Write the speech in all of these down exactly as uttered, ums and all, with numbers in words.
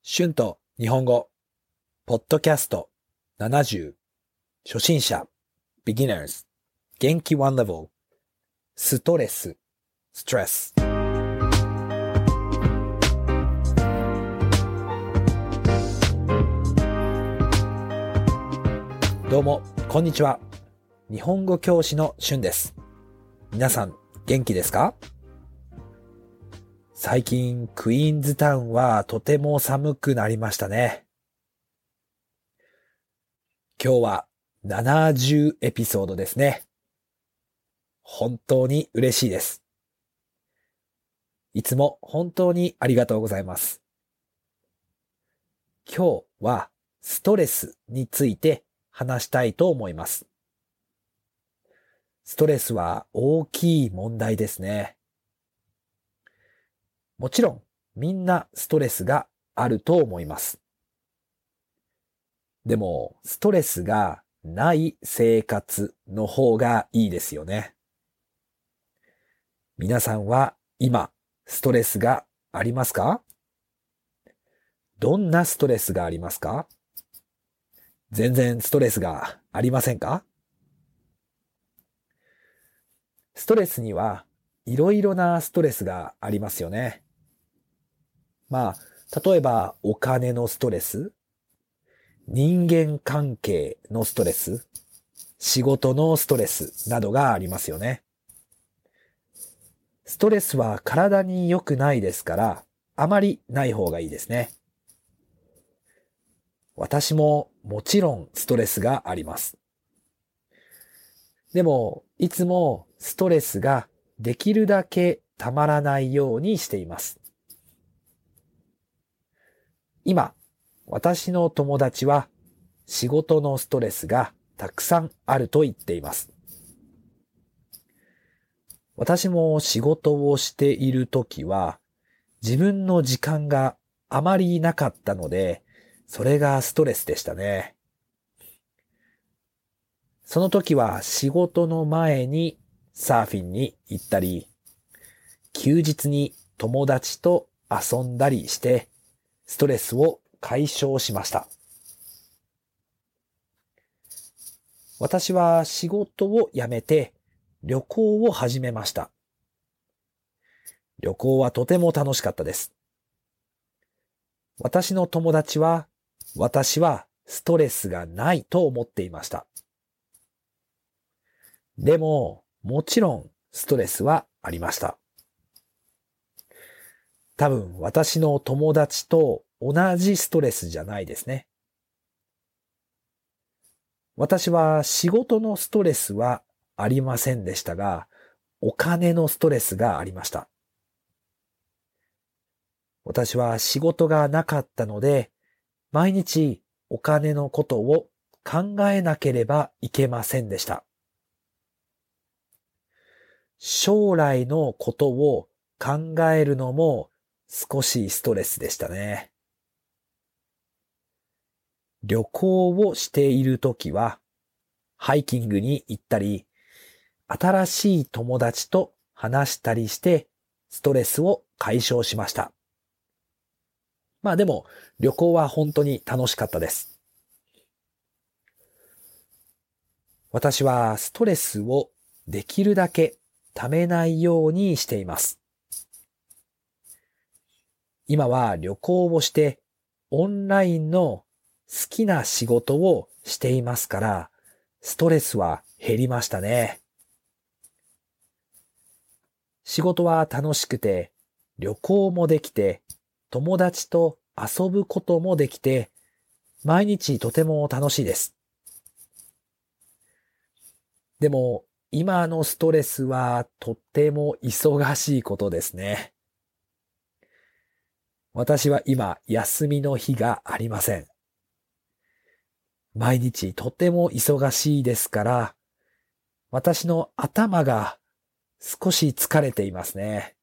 春と日本語、ポッドキャストななじゅう、初心者、beginners、元気ワンレベル、ストレス、ストレス。どうも、こんにちは。日本語教師の春です。皆さん、元気ですか？最近、クイーンズタウンはとても寒くなりましたね。今日はななじゅうエピソードですね。本当に嬉しいです。いつも本当にありがとうございます。今日はストレスについて話したいと思います。ストレスは大きい問題ですね。もちろんみんなストレスがあると思います。でもストレスがない生活の方がいいですよね。皆さんは今ストレスがありますか？どんなストレスがありますか？全然ストレスがありませんか？ストレスにはいろいろなストレスがありますよね。まあ、例えばお金のストレス、人間関係のストレス、仕事のストレスなどがありますよね。ストレスは体に良くないですから、あまりない方がいいですね。私ももちろんストレスがあります。でも、いつもストレスができるだけたまらないようにしています。今、私の友達は仕事のストレスがたくさんあると言っています。私も仕事をしているときは自分の時間があまりなかったので、それがストレスでしたね。その時は仕事の前にサーフィンに行ったり、休日に友達と遊んだりしてストレスを解消しました。私は仕事を辞めて旅行を始めました。旅行はとても楽しかったです。私の友達は、私はストレスがないと思っていました。でも、もちろんストレスはありました。多分私の友達と同じストレスじゃないですね。私は仕事のストレスはありませんでしたが、お金のストレスがありました。私は仕事がなかったので、毎日お金のことを考えなければいけませんでした。将来のことを考えるのも少しストレスでしたね。旅行をしているときは、ハイキングに行ったり、新しい友達と話したりして、ストレスを解消しました。まあでも、旅行は本当に楽しかったです。私はストレスをできるだけためないようにしています。今は旅行をしてオンラインの好きな仕事をしていますから、ストレスは減りましたね。仕事は楽しくて、旅行もできて、友達と遊ぶこともできて、毎日とても楽しいです。でも、今のストレスはとっても忙しいことですね。私は今、休みの日がありません。毎日とても忙しいですから、私の頭が少し疲れていますね。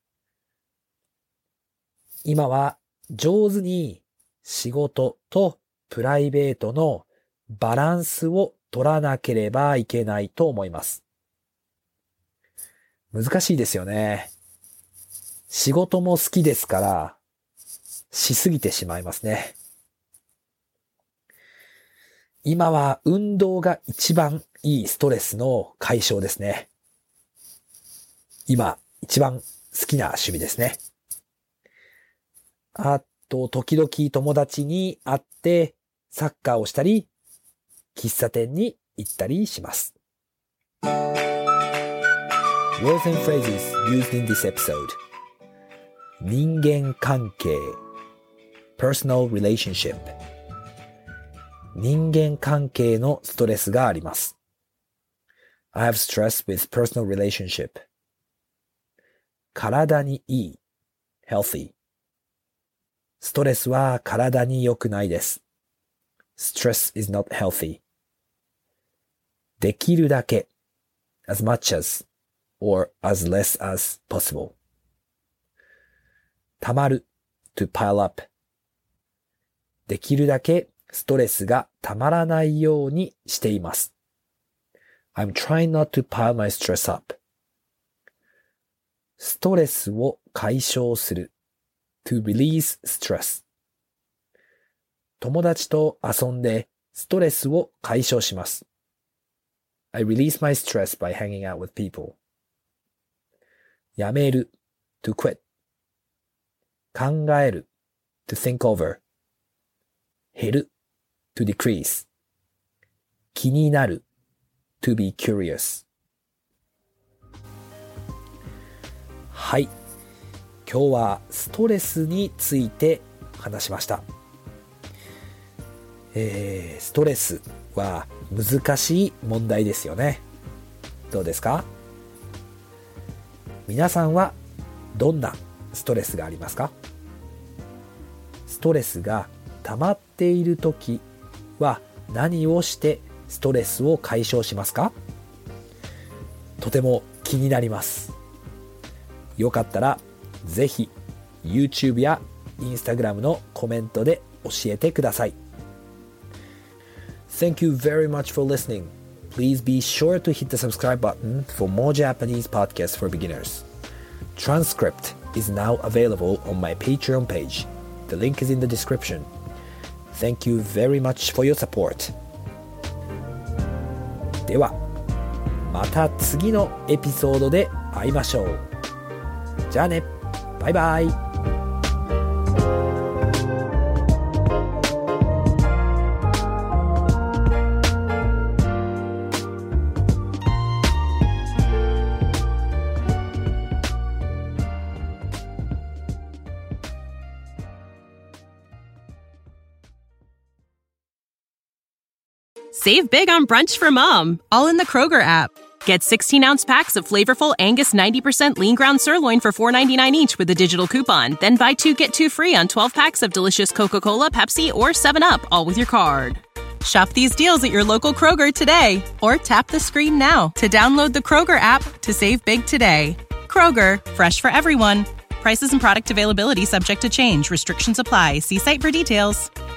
今は上手に仕事とプライベートのバランスを取らなければいけないと思います。難しいですよね。仕事も好きですから、 しすぎてしまいますね。今は運動が一番いいストレスの解消ですね。今一番好きな趣味ですね。あと、時々友達に会ってサッカーをしたり、喫茶店に行ったりします。Words and phrases used in this episode. 人間関係 Personal relationship 人間関係のストレスがあります。I have stress with personal relationship. 体にいい healthy ストレスは体に良くないです。Stress is not healthy. できるだけ as much as or as less as possible. 溜まる to pile up. できるだけストレスが溜まらないようにしています。I'm trying not to pile my stress up. ストレスを解消する to release stress. 友達と遊んでストレスを解消します。I release my stress by hanging out with people. やめる to quit. 考える to think over. 減る to decrease. 気になる to be curious. はい。今日はストレスについて話しました。えー、ストレスは難しい問題ですよね。どうですか？皆さんはどんなストレスがありますか？ストレスが溜まっているときは何をしてストレスを解消しますか？とても気になります。よかったらぜひ YouTube や Instagram のコメントで教えてください。Thank you very much for listening. Please be sure to hit the subscribe button for more Japanese podcasts for beginners. Transcript is now available on my Patreon page. The link is in the description. Thank you very much for your support. では、また次のエピソードで会いましょう。じゃあね、バイバイ。 Save big on brunch for mom, all in the Kroger app. Get sixteen-ounce packs of flavorful Angus ninety percent lean ground sirloin for four ninety-nine each with a digital coupon. Then buy two, get two free on twelve packs of delicious Coca-Cola, Pepsi, or seven up, all with your card. Shop these deals at your local Kroger today, or tap the screen now to download the Kroger app to save big today. Kroger, fresh for everyone. Prices and product availability subject to change. Restrictions apply. See site for details.